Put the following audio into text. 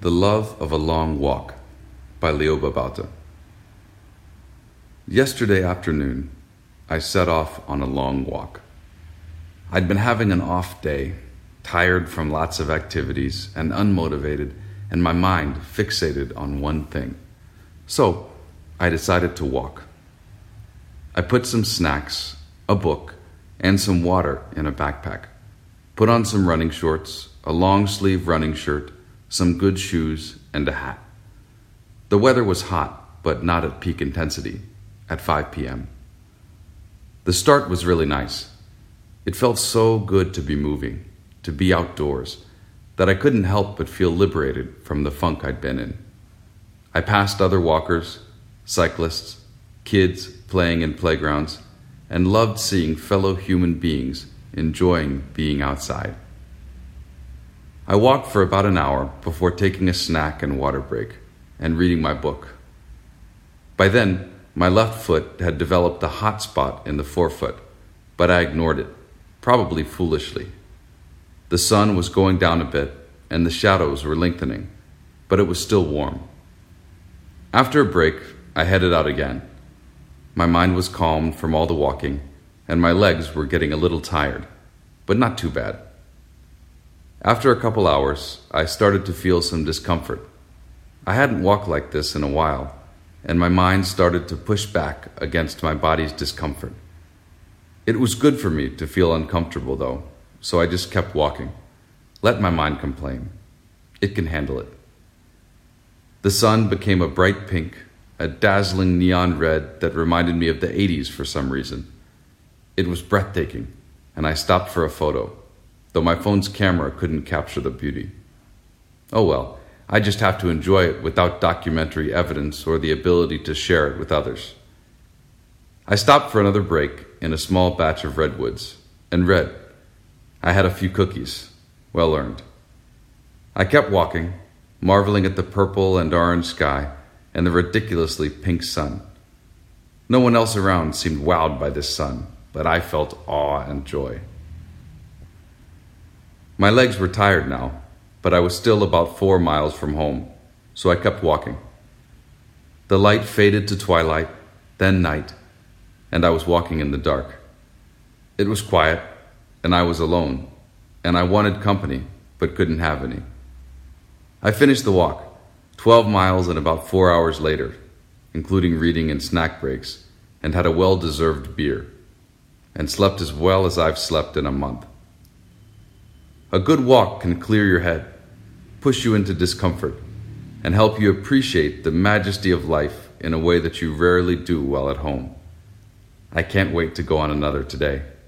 The Love of a Long Walk by Leo Babauta. Yesterday afternoon, I set off on a long walk. I'd been having an off day, tired from lots of activities and unmotivated, and my mind fixated on one thing. So, I decided to walk. I put some snacks, a book, and some water in a backpack. Put on some running shorts, a long-sleeve running shirt, some good shoes, and a hat. The weather was hot, but not at peak intensity, at 5 p.m. The start was really nice. It felt so good to be moving, to be outdoors, that I couldn't help but feel liberated from the funk I'd been in. I passed other walkers, cyclists, kids playing in playgrounds, and loved seeing fellow human beings enjoying being outside. I walked for about an hour before taking a snack and water break and reading my book. By then, my left foot had developed a hot spot in the forefoot, but I ignored it, probably foolishly. The sun was going down a bit and the shadows were lengthening, but it was still warm. After a break, I headed out again. My mind was calmed from all the walking, and my legs were getting a little tired, but not too bad. After a couple hours, I started to feel some discomfort. I hadn't walked like this in a while, and my mind started to push back against my body's discomfort. It was good for me to feel uncomfortable, though, so I just kept walking. Let my mind complain. It can handle it. The sun became a bright pink, a dazzling neon red that reminded me of the 80s for some reason. It was breathtaking, and I stopped for a photo, though my phone's camera couldn't capture the beauty. Oh well, I just have to enjoy it without documentary evidence or the ability to share it with others. I stopped for another break in a small batch of redwoods and read. I had a few cookies, well earned. I kept walking, marveling at the purple and orange sky and the ridiculously pink sun. No one else around seemed wowed by this sun, but I felt awe and joy. My legs were tired now, but I was still about 4 miles from home, so I kept walking. The light faded to twilight, then night, and I was walking in the dark. It was quiet, and I was alone, and I wanted company, but couldn't have any. I finished the walk, 12 miles and about 4 hours later, including reading and snack breaks, and had a well-deserved beer, and slept as well as I've slept in a month. A good walk can clear your head, push you into discomfort, and help you appreciate the majesty of life in a way that you rarely do while at home. I can't wait to go on another today.